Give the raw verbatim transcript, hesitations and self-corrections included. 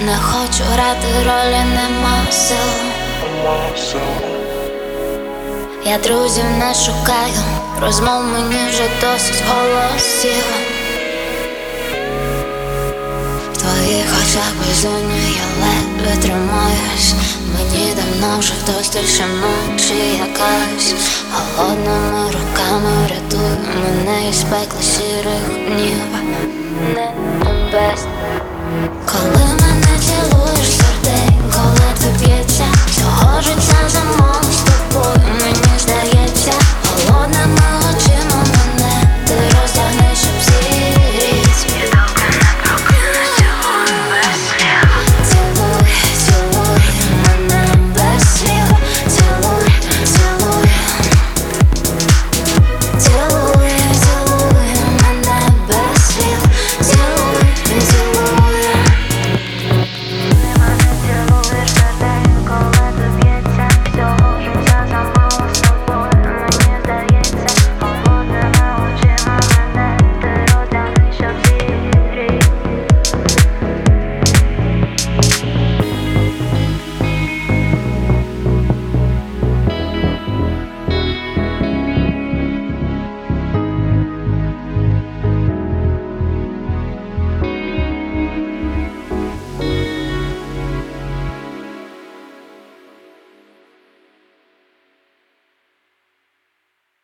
Не хочу грати ролі, нема сил. Я друзів не шукаю, розмов мені вже досить голосів. В твоїх очах безумні я ледве тримаюсь. Мені давно вже вдосталь, що ночі якась холодними руками рятуй мене із пекла сірих днів. Не небес. Коли